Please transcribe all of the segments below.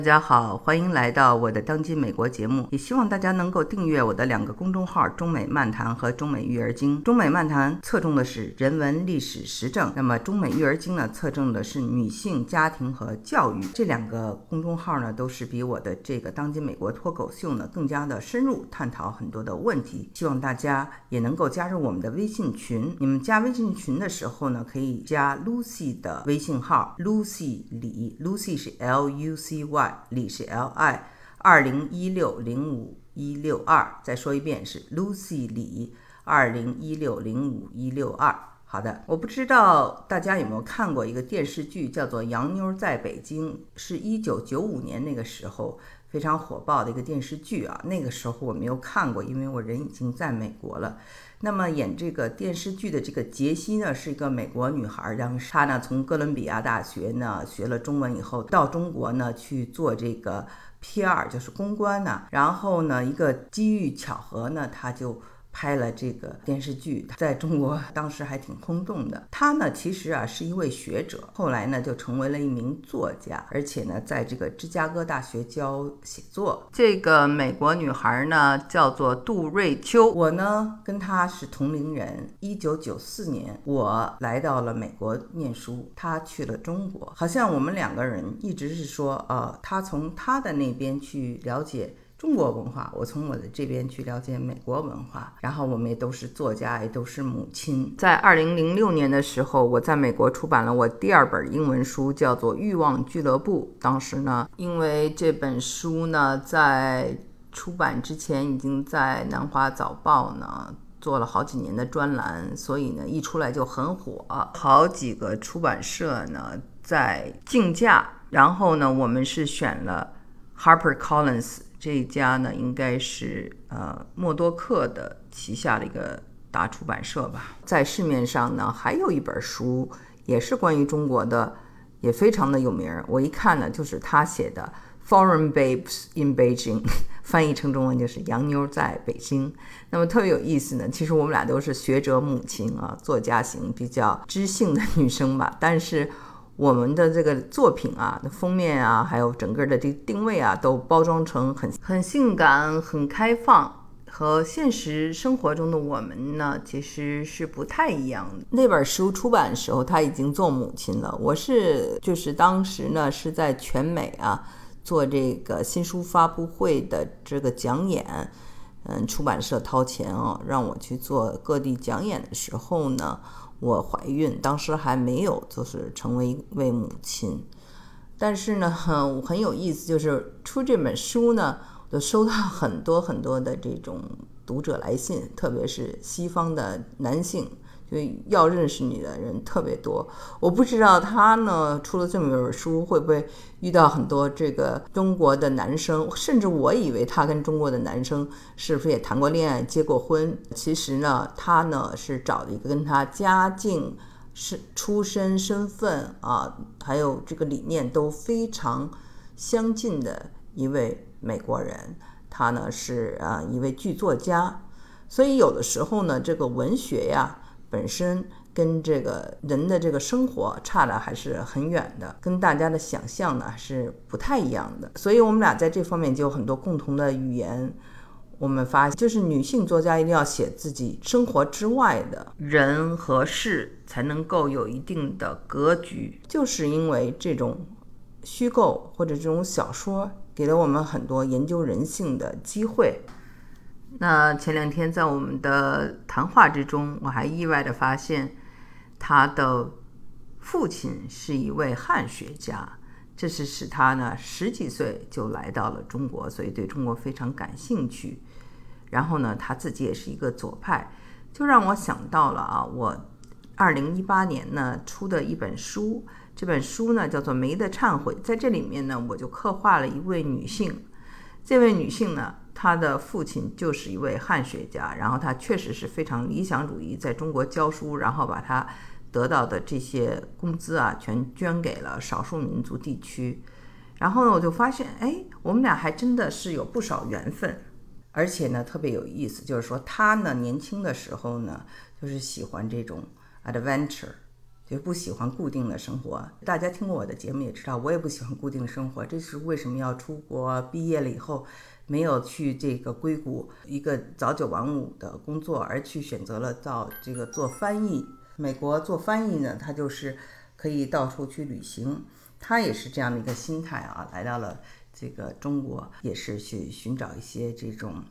大家好，欢迎来到我的当今美国节目，也希望大家能够订阅我的2个公众号中美漫谈和中美育儿经。中美漫谈侧重的是人文、历史、时政，那么中美育儿经呢，侧重的是女性、家庭和教育。这2个公众号呢，都是比我的这个当今美国脱口秀呢更加的深入，探讨很多的问题。希望大家也能够加入我们的微信群。你们加微信群的时候呢，可以加 Lucy 的微信号 Lucy 李 Lucy 是 LUCY，李是 LI 2016051162，再说一遍是 Lucy 李2016051162。好的，我不知道大家有没有看过一个电视剧，叫做《洋妞在北京》，是1995年那个时候非常火爆的一个电视剧啊。那个时候我没有看过，因为我人已经在美国了。那么演这个电视剧的这个杰西呢，是一个美国女孩，然后她呢从哥伦比亚大学呢学了中文以后，到中国呢去做这个 PR， 就是公关呢。然后呢，一个机遇巧合呢，她就拍了这个电视剧，在中国当时还挺轰动的。他呢其实是一位学者，后来呢就成为了一名作家，而且呢在这个芝加哥大学教写作。这个美国女孩呢叫做杜瑞秋，我呢跟她是同龄人。1994年我来到了美国念书，她去了中国。好像我们2个人一直是说她从她的那边去了解中国文化，我从我的这边去了解美国文化，然后我们也都是作家，也都是母亲。在2006年的时候，我在美国出版了我第2本英文书，叫做《欲望俱乐部》。当时呢，因为这本书呢在出版之前已经在南华早报呢做了好几年的专栏，所以呢一出来就很火，好几个出版社呢在竞价，然后呢我们是选了 HarperCollins，这一家呢应该是默多克的旗下的一个大出版社吧。在市面上呢还有一本书也是关于中国的，也非常的有名。我一看呢就是他写的 Foreign Babes in Beijing， 翻译成中文就是洋妞在北京。那么特别有意思呢，其实我们俩都是学者母亲啊，作家型比较知性的女生吧，但是我们的这个作品啊，封面啊，还有整个的这个定位啊，都包装成很性感、很开放，和现实生活中的我们呢，其实是不太一样的。那本书出版的时候，她已经做母亲了。我就是当时呢是在全美啊做这个新书发布会的这个讲演，出版社掏钱让我去做各地讲演的时候呢，我怀孕，当时还没有就是成为一位母亲。但是呢很有意思，就是出这本书呢，我就收到很多很多的这种读者来信，特别是西方的男性，就要认识你的人特别多。我不知道他呢出了这么一本书会不会遇到很多这个中国的男生，甚至我以为他跟中国的男生是不是也谈过恋爱、结过婚。其实呢他呢是找了一个跟他家境、出身、身份还有这个理念都非常相近的一位美国人。他呢是一位剧作家，所以有的时候呢这个文学呀本身跟这个人的这个生活差的还是很远的，跟大家的想象呢是不太一样的。所以我们俩在这方面就有很多共同的语言。我们发现就是女性作家一定要写自己生活之外的人和事，才能够有一定的格局。就是因为这种虚构或者这种小说给了我们很多研究人性的机会。那前2天在我们的谈话之中，我还意外地发现他的父亲是一位汉学家，这是使他呢10几岁就来到了中国，所以对中国非常感兴趣。然后呢他自己也是一个左派，就让我想到了我2018年呢出的一本书，这本书呢叫做《梅的忏悔》。在这里面呢我就刻画了一位女性，这位女性呢她的父亲就是一位汉学家，然后她确实是非常理想主义，在中国教书，然后把她得到的这些工资全捐给了少数民族地区。然后呢我就发现我们俩还真的是有不少缘分。而且呢特别有意思，就是说她呢年轻的时候呢就是喜欢这种 adventure， 就不喜欢固定的生活。大家听过我的节目也知道，我也不喜欢固定的生活，这是为什么要出国，毕业了以后没有去这个硅谷一个早九晚五的工作，而去选择了到这个做翻译。美国做翻译呢，他就是可以到处去旅行，他也是这样的一个心态啊，来到了这个中国，也是去寻找一些这种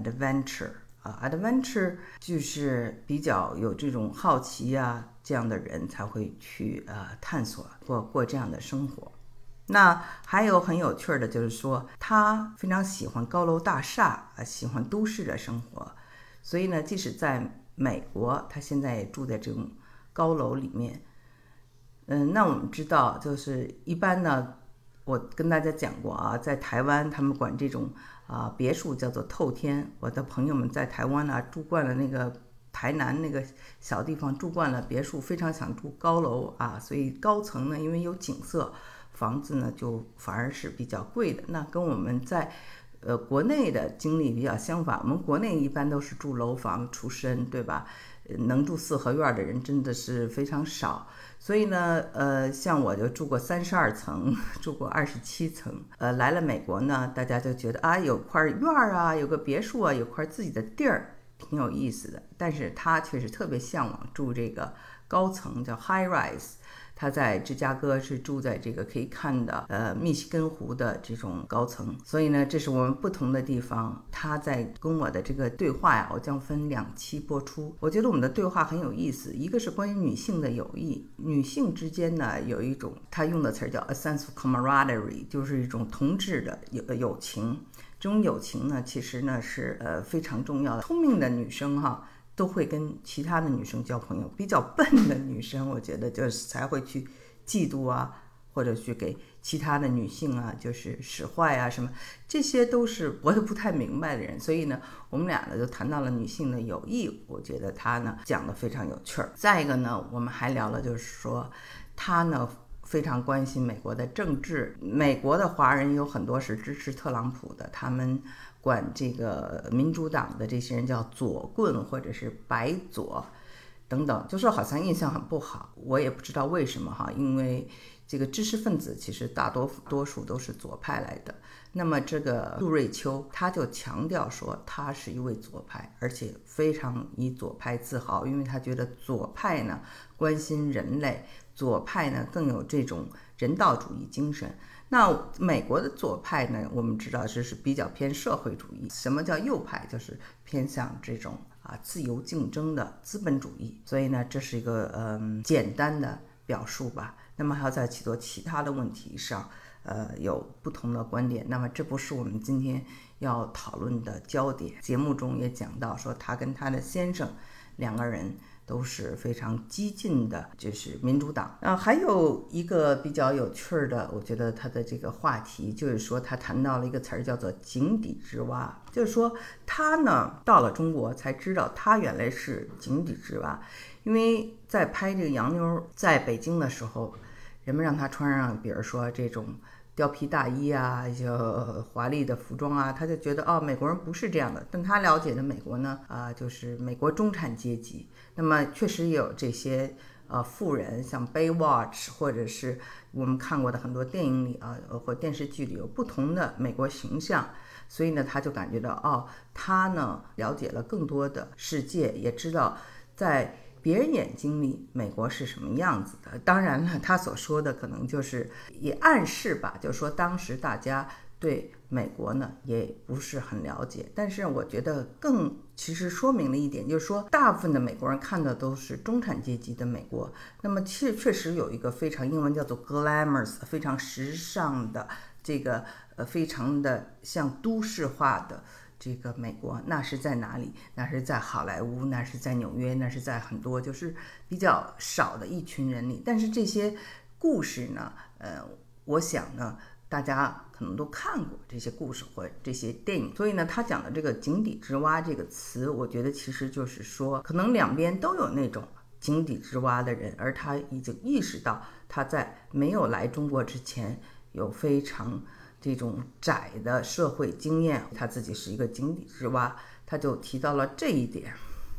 adventure。adventure 就是比较有这种好奇啊，这样的人才会去探索过这样的生活。那还有很有趣的就是说，他非常喜欢高楼大厦喜欢都市的生活，所以呢，即使在美国，他现在也住在这种高楼里面。那我们知道，就是一般呢，我跟大家讲过啊，在台湾他们管这种别墅叫做透天。我的朋友们在台湾呢住惯了那个台南那个小地方，住惯了别墅，非常想住高楼所以高层呢，因为有景色，房子呢就反而是比较贵的。那跟我们在国内的经历比较相反，我们国内一般都是住楼房出身，对吧？能住四合院的人真的是非常少。所以呢，像我就住过32层，住过27层。来了美国呢，大家就觉得有块院有个别墅有块自己的地儿，挺有意思的。但是他却是特别向往住这个高层，叫 high rise。他在芝加哥是住在这个可以看的密西根湖的这种高层，所以呢，这是我们不同的地方。他在跟我的这个对话我将分2期播出。我觉得我们的对话很有意思，一个是关于女性的友谊，女性之间呢有一种他用的词叫 a sense of camaraderie， 就是一种同志的友情。这种友情呢，其实呢是非常重要的。聪明的女生都会跟其他的女生交朋友，比较笨的女生我觉得就是才会去嫉妒或者去给其他的女性就是使坏什么，这些都是我也不太明白的人。所以呢，我们俩呢就谈到了女性的友谊，我觉得他呢讲得非常有趣儿。再一个呢，我们还聊了就是说他呢非常关心美国的政治。美国的华人有很多是支持特朗普的，他们管这个民主党的这些人叫左棍或者是白左等等，就是好像印象很不好。我也不知道为什么因为这个知识分子其实大多数都是左派来的。那么这个杜瑞秋他就强调说他是一位左派，而且非常以左派自豪，因为他觉得左派呢关心人类，左派呢更有这种人道主义精神。那美国的左派呢，我们知道是比较偏社会主义。什么叫右派？就是偏向这种自由竞争的资本主义。所以呢，这是一个简单的表述吧。那么还要在许多其他的问题上有不同的观点。那么这不是我们今天要讨论的焦点。节目中也讲到说，他跟他的先生2个人都是非常激进的，就是民主党。还有一个比较有趣的，我觉得他的这个话题就是说，他谈到了一个词儿叫做井底之蛙。就是说他呢到了中国才知道他原来是井底之蛙。因为在拍这个洋妞在北京的时候，人们让他穿上比如说这种貂皮大衣就华丽的服装他就觉得美国人不是这样的。但他了解的美国呢就是美国中产阶级。那么确实也有这些富人，像 Baywatch 或者是我们看过的很多电影里或电视剧里有不同的美国形象。所以呢，他就感觉到他呢了解了更多的世界，也知道在别人眼睛里美国是什么样子的。当然了，他所说的可能就是也暗示吧，就是说当时大家对美国呢也不是很了解。但是我觉得更其实说明了一点，就是说大部分的美国人看的都是中产阶级的美国。那么确实有一个非常英文叫做 glamorous， 非常时尚的这个非常的像都市化的这个美国。那是在哪里？那是在好莱坞，那是在纽约，那是在很多就是比较少的一群人里。但是这些故事呢我想呢大家可能都看过这些故事或这些电影。所以呢，他讲的这个井底之蛙这个词，我觉得其实就是说可能两边都有那种井底之蛙的人，而他已经意识到他在没有来中国之前有非常这种窄的社会经验，他自己是一个井底之蛙。他就提到了这一点。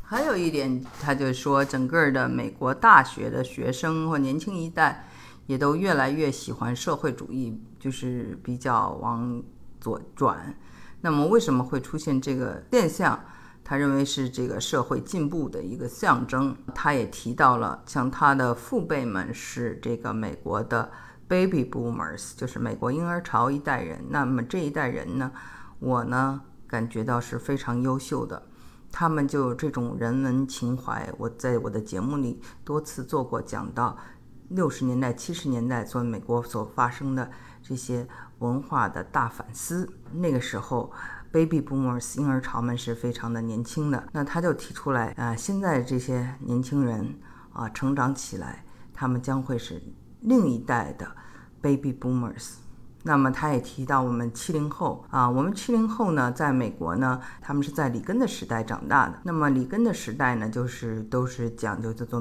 还有一点，他就说，整个的美国大学的学生或年轻一代也都越来越喜欢社会主义，就是比较往左转。那么为什么会出现这个现象？他认为是这个社会进步的一个象征。他也提到了，像他的父辈们是这个美国的 baby boomers， 就是美国婴儿潮一代人。那么这一代人呢，我呢感觉到是非常优秀的。他们就有这种人文情怀，我在我的节目里多次做过讲到60年代70年代作为美国所发生的这些文化的大反思。那个时候 baby boomers 婴儿潮们是非常的年轻的，那他就提出来现在这些年轻人成长起来，他们将会是另一代的 baby boomers。那么他也提到我们70后我们70后呢，在美国呢，他们是在里根的时代长大的。那么里根的时代呢，都是讲究叫做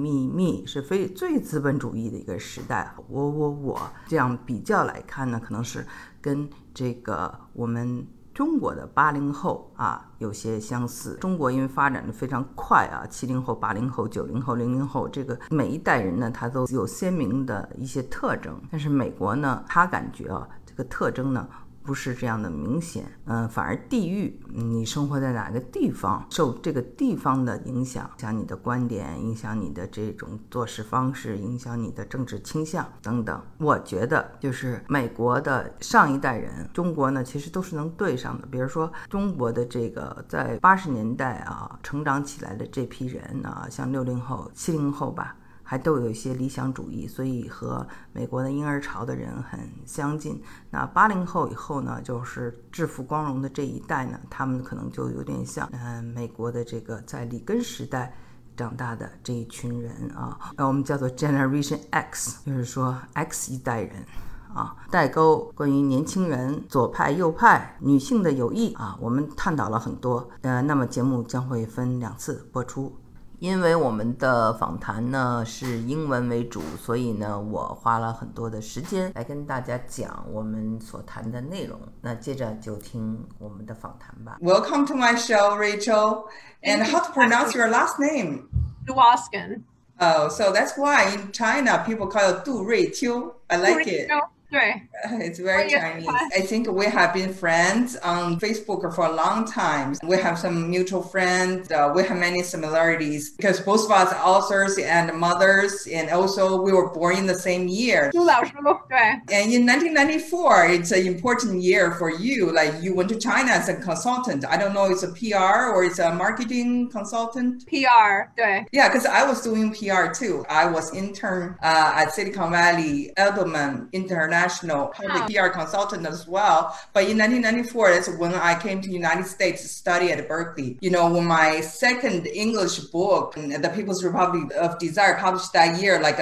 me， 是最资本主义的一个时代，我这样比较来看呢，可能是跟这个我们中国的80后有些相似。中国因为发展的非常快70后、80后、90后、00后，这个每一代人呢，他都有鲜明的一些特征。但是美国呢，他感觉这个特征呢不是这样的明显，反而地域，你生活在哪个地方，受这个地方的影响你的观点，影响你的这种做事方式，影响你的政治倾向等等。我觉得就是美国的上一代人，中国呢其实都是能对上的。比如说中国的这个在80年代成长起来的这批人像60后、70后吧，还都有一些理想主义，所以和美国的婴儿潮的人很相近。那80后以后呢，就是致富光荣的这一代呢，他们可能就有点像美国的这个在里根时代长大的这一群人我们叫做 Generation X， 就是说 X 一代人代沟，关于年轻人、左派、右派、女性的友谊我们探讨了很多。那么节目将会分2次播出。因为我们的访谈呢是英文为主，所以呢我花了很多的时间来跟大家讲我们所谈的内容。那接着就听我们的访谈吧。Welcome to my show, Rachel. And how to pronounce your last name? Duoskin. Oh, so that's why in China people call it Du Ruiqiu. I like it. It's very Chinese. I think we have been friends on Facebook for a long time. We have some mutual friends. We have many similarities because both of us are authors and mothers, and also we were born in the same year. And in 1994, it's an important year for you. Like you went to China as a consultant. I don't know, it's a PR or it's a marketing consultant? PR, Yeah, because I was doing PR too. I was intern at Silicon Valley, Edelman International public PR consultant as well. But in 1994, that's when I came to the United States to study at Berkeley. You know, when my second English book, The People's Republic of Desire, published that year, like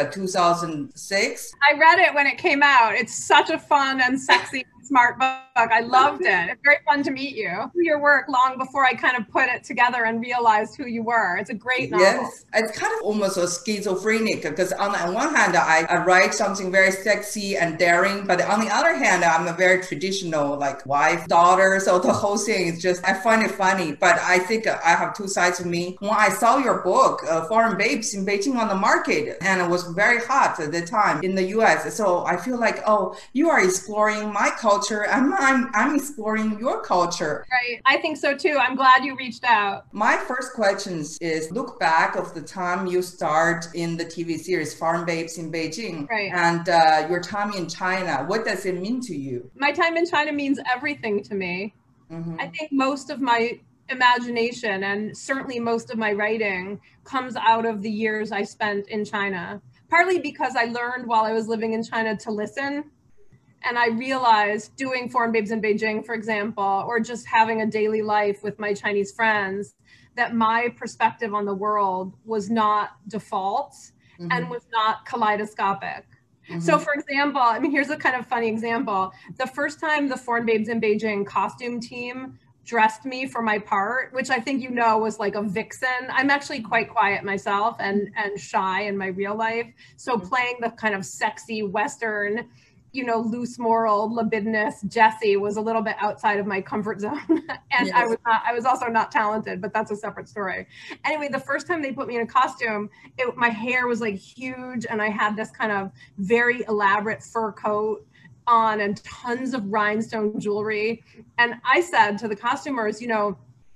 2006. I read it when it came out. It's such a fun and sexy smart book. I loved it. It's very fun to meet you. Your work long before I kind of put it together and realized who you were. It's a great novel. Yes, it's kind of almost a schizophrenic because on the one hand, I write something very sexy and daring, but on the other hand, I'm a very traditional like wife, daughter. So the whole thing is just, I find it funny, but I think I have two sides of me. When I saw your book, Foreign Babes in Beijing on the market, and it was very hot at the time in the US. So I feel like, oh, you are exploring my culture. I'm exploring your culture. Right. I think so too. I'm glad you reached out. My first question is look back of the time you start in the TV series Foreign Babes in Beijing, right, and your time in China. What does it mean to you? My time in China means everything to me. Mm-hmm. I think most of my imagination and certainly most of my writing comes out of the years I spent in China, partly because I learned while I was living in China to listen. And I realized doing Foreign Babes in Beijing, for example, or just having a daily life with my Chinese friends, that my perspective on the world was not default and was not kaleidoscopic. So for example, I mean, here's a kind of funny example. The first time the Foreign Babes in Beijing costume team dressed me for my part, which I think you know was like a vixen. I'm actually quite quiet myself and shy in my real life. So playing the kind of sexy Western you know, loose moral, libidinous Jessie was a little bit outside of my comfort zone. And yes. I was also not talented, but that's a separate story. Anyway, the first time they put me in a costume, my hair was like huge, and I had this kind of very elaborate fur coat on and tons of rhinestone jewelry. And I said to the costumers, you know,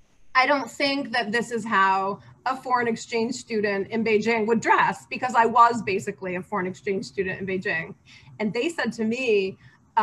I don't think that this is how a foreign exchange student in Beijing would dress, because I was basically a foreign exchange student in Beijing. And they said to me,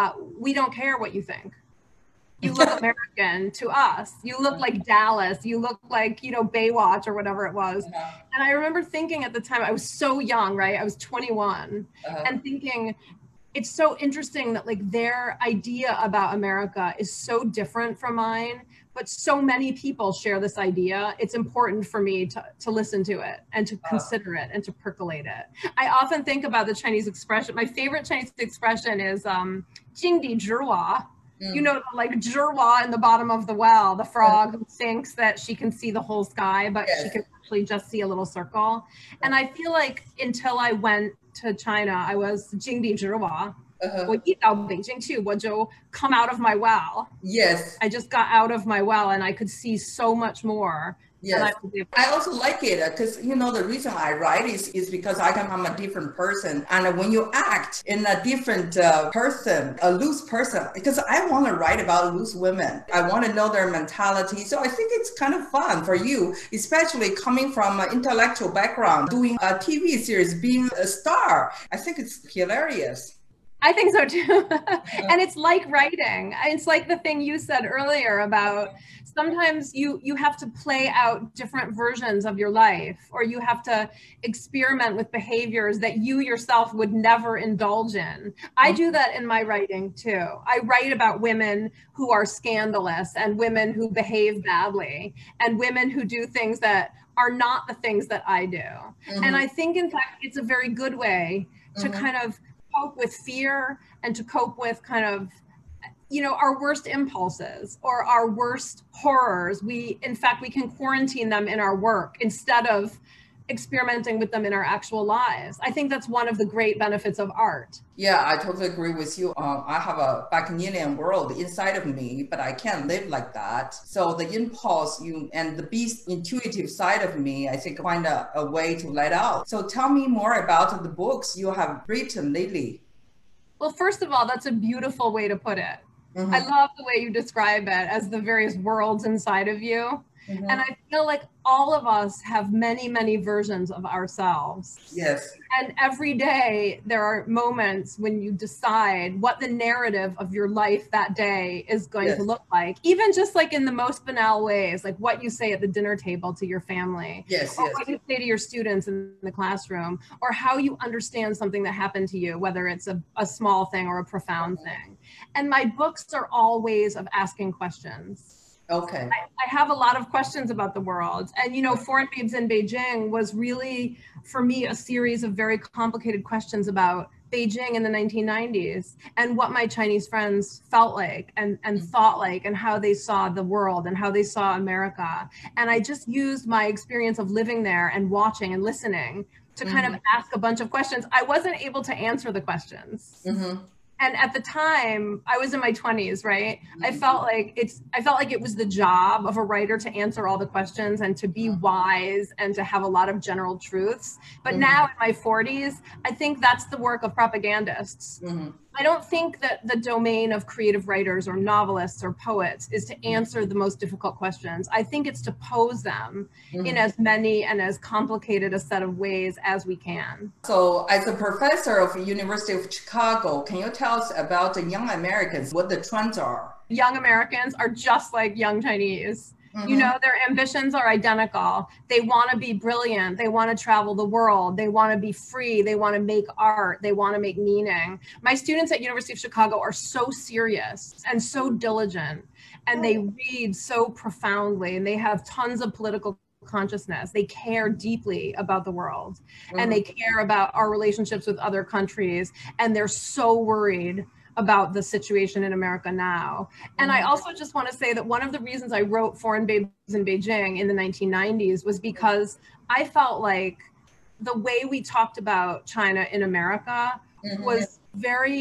we don't care what you think. You look American to us. You look like Dallas. You look like, you know, Baywatch or whatever it was. And I remember thinking at the time, I was so young, right? I was 21 and thinking, it's so interesting that like their idea about America is so different from mine, but so many people share this idea. It's important for me to listen to it and to consider it and to percolate it. I often think about the Chinese expression. My favorite Chinese expression is 井底之蛙. You know, like zhihua in the bottom of the well, the frog who thinks that she can see the whole sky, but she can actually just see a little circle. And I feel like until I went to China, I was 井底之蛙. 我一到北京去，我就 come out of my well. Yes. I just got out of my well and I could see so much more. Yes, I also like it because, you know, the reason I write is because I'm a different person. And when you act in a different person, a loose person, because I want to write about loose women. I want to know their mentality. So I think it's kind of fun for you, especially coming from an intellectual background, doing a TV series, being a star. I think it's hilarious. I think so too. And it's like writing. It's like the thing you said earlier about sometimes you have to play out different versions of your life, or you have to experiment with behaviors that you yourself would never indulge in. I do that in my writing too. I write about women who are scandalous and women who behave badly and women who do things that are not the things that I do. And I think, in fact, it's a very good way to kind of cope with fear and to cope with kind of, you know, our worst impulses or our worst horrors. In fact, we can quarantine them in our work instead of experimenting with them in our actual lives. I think that's one of the great benefits of art. Yeah, I totally agree with you. I have a Bacchanalian world inside of me, but I can't live like that. So the impulse and the beast intuitive side of me, I think, find a way to let out. So tell me more about the books you have written lately. Well, first of all, that's a beautiful way to put it. I love the way you describe it as the various worlds inside of you. And I feel like all of us have many, many versions of ourselves. Yes. And every day there are moments when you decide what the narrative of your life that day is going to look like, even just like in the most banal ways, like what you say at the dinner table to your family, or what you say to your students in the classroom, or how you understand something that happened to you, whether it's a small thing or a profound thing. And my books are all ways of asking questions. Okay. I have a lot of questions about the world. And, you know, Foreign Babes in Beijing was really, for me, a series of very complicated questions about Beijing in the 1990s and what my Chinese friends felt like and thought like and how they saw the world and how they saw America. And I just used my experience of living there and watching and listening to kind of ask a bunch of questions. I wasn't able to answer the questions. And at the time, I was in my 20s, right? I felt like it was the job of a writer to answer all the questions and to be wise and to have a lot of general truths. But now in my 40s, I think that's the work of propagandists. I don't think that the domain of creative writers or novelists or poets is to answer the most difficult questions. I think it's to pose them in as many and as complicated a set of ways as we can. So as a professor of University of Chicago, can you tell us about the young Americans, what the trends are? Young Americans are just like young Chinese. You know, their ambitions are identical. They want to be brilliant. They want to travel the world. They want to be free. They want to make art. They want to make meaning. My students at University of Chicago are so serious and so diligent, and they read so profoundly, and they have tons of political consciousness. They care deeply about the world, and they care about our relationships with other countries, and they're so worried about the situation in America now. And I also just want to say that one of the reasons I wrote Foreign Babes in Beijing in the 1990s was because I felt like the way we talked about China in America was very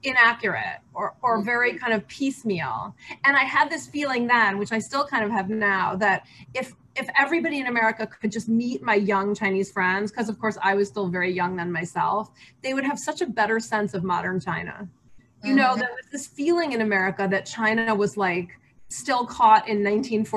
inaccurate or very kind of piecemeal. And I had this feeling then, which I still kind of have now, that if everybody in America could just meet my young Chinese friends, because of course I was still very young then myself, they would have such a better sense of modern China. You know, there was this feeling in America that China was like still caught in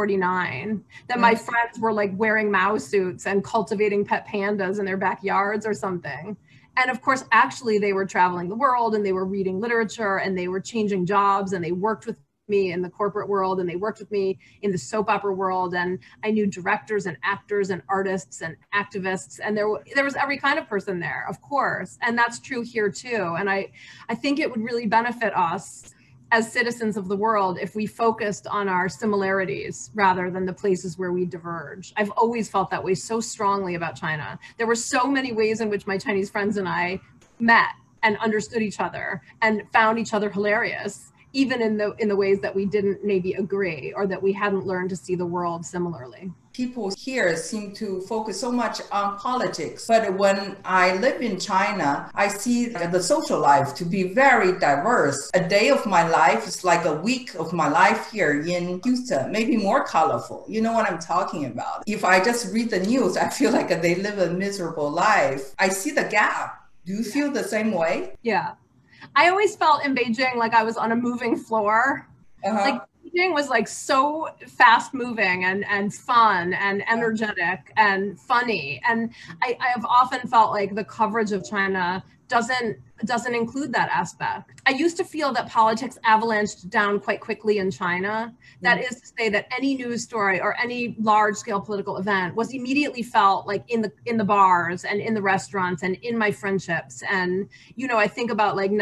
1949, that my friends were like wearing Mao suits and cultivating pet pandas in their backyards or something. And of course, actually, they were traveling the world and they were reading literature and they were changing jobs and they worked with me in the corporate world and they worked with me in the soap opera world. And I knew directors and actors and artists and activists. And there was every kind of person there, of course. And that's true here too. And I think it would really benefit us as citizens of the world if we focused on our similarities rather than the places where we diverge. I've always felt that way so strongly about China. There were so many ways in which my Chinese friends and I met and understood each other and found each other hilarious, even in the ways that we didn't maybe agree or that we hadn't learned to see the world similarly. People here seem to focus so much on politics, but when I live in China, I see the social life to be very diverse. A day of my life is like a week of my life here in Houston, maybe more colorful. You know what I'm talking about? If I just read the news, I feel like they live a miserable life. I see the gap. Do you feel the same way? Yeah. I always felt in Beijing like I was on a moving floor. Like Beijing was like so fast moving and fun and energetic and funny. And I have often felt like the coverage of China doesn't include that aspect. I used to feel that politics avalanched down quite quickly in China. That is to say that any news story or any large scale political event was immediately felt like in the bars and in the restaurants and in my friendships. And, you know, I think about like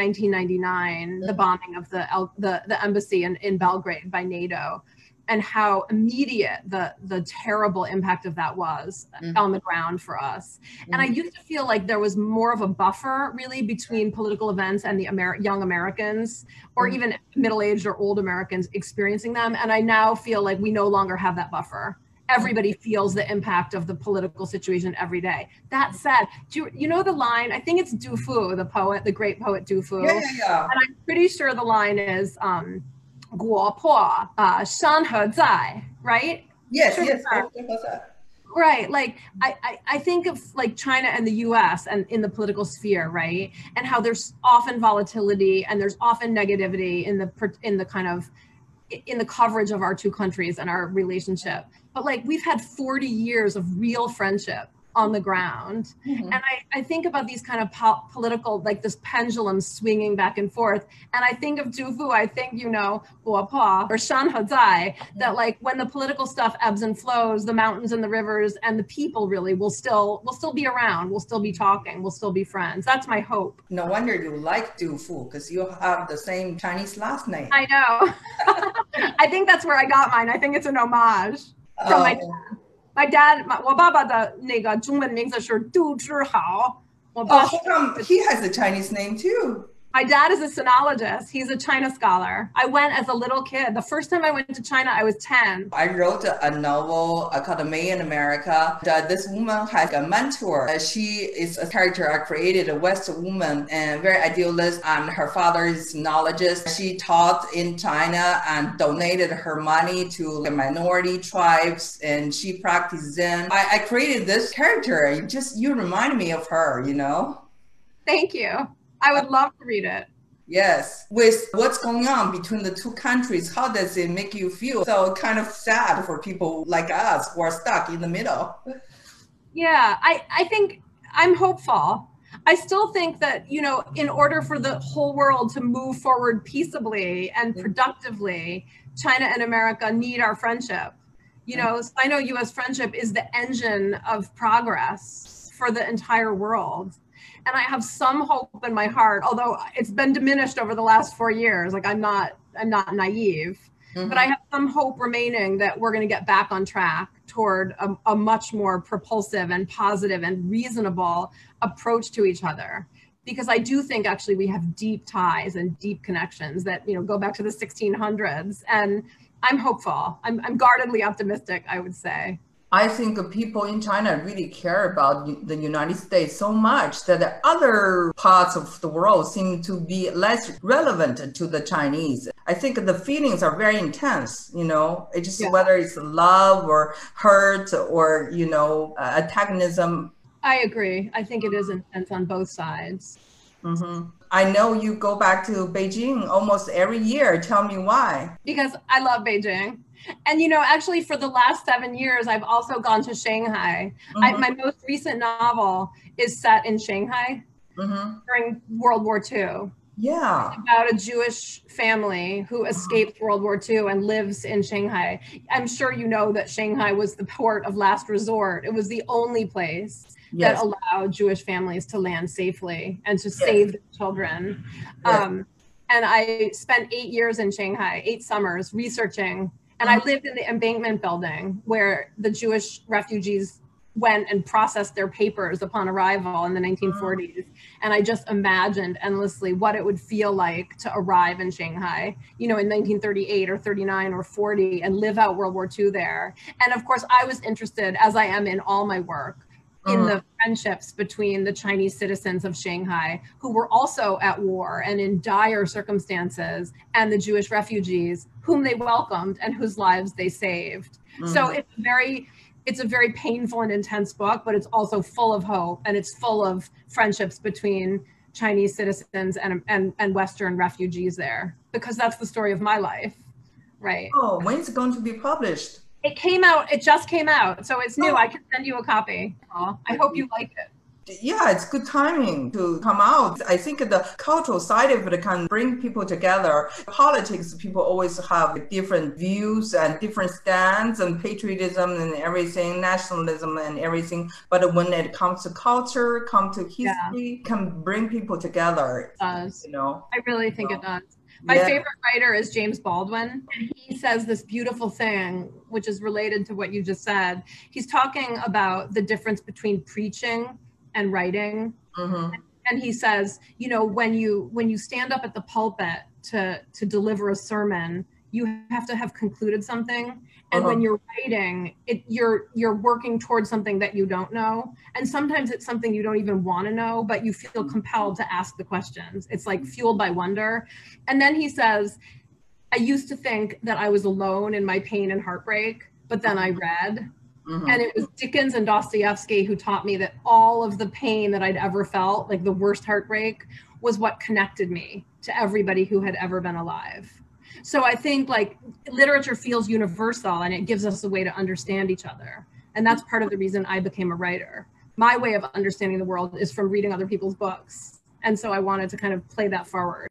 1999, the bombing of the embassy in Belgrade by NATO, and how immediate the terrible impact of that was on the ground for us. And I used to feel like there was more of a buffer really between political events and the young Americans, or even middle-aged or old Americans experiencing them. And I now feel like we no longer have that buffer. Everybody feels the impact of the political situation every day. That said, do you know the line? I think it's Du Fu, the poet, the great poet Du Fu. Yeah. And I'm pretty sure the line is, 国破山河在, right? Yes. Right. Like I think of like China and the US and in the political sphere, right? And how there's often volatility and there's often negativity in the kind of in the coverage of our two countries and our relationship. But like we've had 40 years of real friendship on the ground. And I think about these kind of political, like this pendulum swinging back and forth. And I think of Du Fu, I think, you know, 国破 or 山河在, that like when the political stuff ebbs and flows, the mountains and the rivers and the people really will still be around. We'll still be talking. We'll still be friends. That's my hope. No wonder you like Du Fu, because you have the same Chinese last name. I know. I think that's where I got mine. I think it's an homage from my dad. My dad, 我爸爸的那个中文名字是杜之豪。 How come he has a Chinese name too? My dad is a sinologist. He's a China scholar. I went as a little kid. The first time I went to China, I was 10. I wrote a novel called Made in America. This woman has a mentor. She is a character I created, a West woman, and very idealist. And her father is a sinologist. She taught in China and donated her money to the minority tribes, and she practiced Zen. I created this character. You remind me of her, you know? Thank you. I would love to read it. Yes. With what's going on between the two countries, how does it make you feel? So kind of sad for people like us who are stuck in the middle. Yeah, I think I'm hopeful. I still think that, you know, in order for the whole world to move forward peaceably and productively, China and America need our friendship. You know, Sino-US friendship is the engine of progress for the entire world. And I have some hope in my heart, although it's been diminished over the last 4 years. Like I'm not naive, but I have some hope remaining that we're going to get back on track toward a much more propulsive and positive and reasonable approach to each other. Because I do think actually we have deep ties and deep connections that, you know, go back to the 1600s. And I'm hopeful. I'm guardedly optimistic, I would say. I think people in China really care about the United States so much that the other parts of the world seem to be less relevant to the Chinese. I think the feelings are very intense, it's just whether it's love or hurt or, antagonism. I agree. I think it is intense on both sides. Mm-hmm. I know you go back to Beijing almost every year. Tell me why. Because I love Beijing. And, actually, for the last 7 years, I've also gone to Shanghai. Mm-hmm. My most recent novel is set in Shanghai during World War II. Yeah. It's about a Jewish family who escaped World War II and lives in Shanghai. I'm sure you know that Shanghai was the port of last resort. It was the only place that allowed Jewish families to land safely and to save their children. Yes. And I spent 8 years in Shanghai, 8 summers researching. And I lived in the Embankment building where the Jewish refugees went and processed their papers upon arrival in the 1940s. And I just imagined endlessly what it would feel like to arrive in Shanghai, in 1938 or 39 or 40 and live out World War II there. And of course, I was interested, as I am in all my work, in the friendships between the Chinese citizens of Shanghai, who were also at war and in dire circumstances, and the Jewish refugees whom they welcomed and whose lives they saved. So it's a very painful and intense book, but it's also full of hope, and it's full of friendships between Chinese citizens and Western refugees there, because that's the story of my life, right? Oh, when's it going to be published? It just came out, so it's new. I can send you a copy. I hope you like it. Yeah, it's good timing to come out. I think the cultural side of it can bring people together. Politics, people always have different views and different stands and patriotism and everything, nationalism and everything. But when it comes to culture, to history, can bring people together. It does. I really think it does. My favorite writer is James Baldwin, and he says this beautiful thing, which is related to what you just said. He's talking about the difference between preaching and writing. And he says, when you stand up at the pulpit to deliver a sermon, you have to have concluded something. And when you're writing, you're working towards something that you don't know. And sometimes it's something you don't even want to know, but you feel compelled to ask the questions. It's like fueled by wonder. And then he says, I used to think that I was alone in my pain and heartbreak, but then I read. And it was Dickens and Dostoevsky who taught me that all of the pain that I'd ever felt, like the worst heartbreak, was what connected me to everybody who had ever been alive. So I think literature feels universal, and it gives us a way to understand each other. And that's part of the reason I became a writer. My way of understanding the world is from reading other people's books. And so I wanted to kind of play that forward.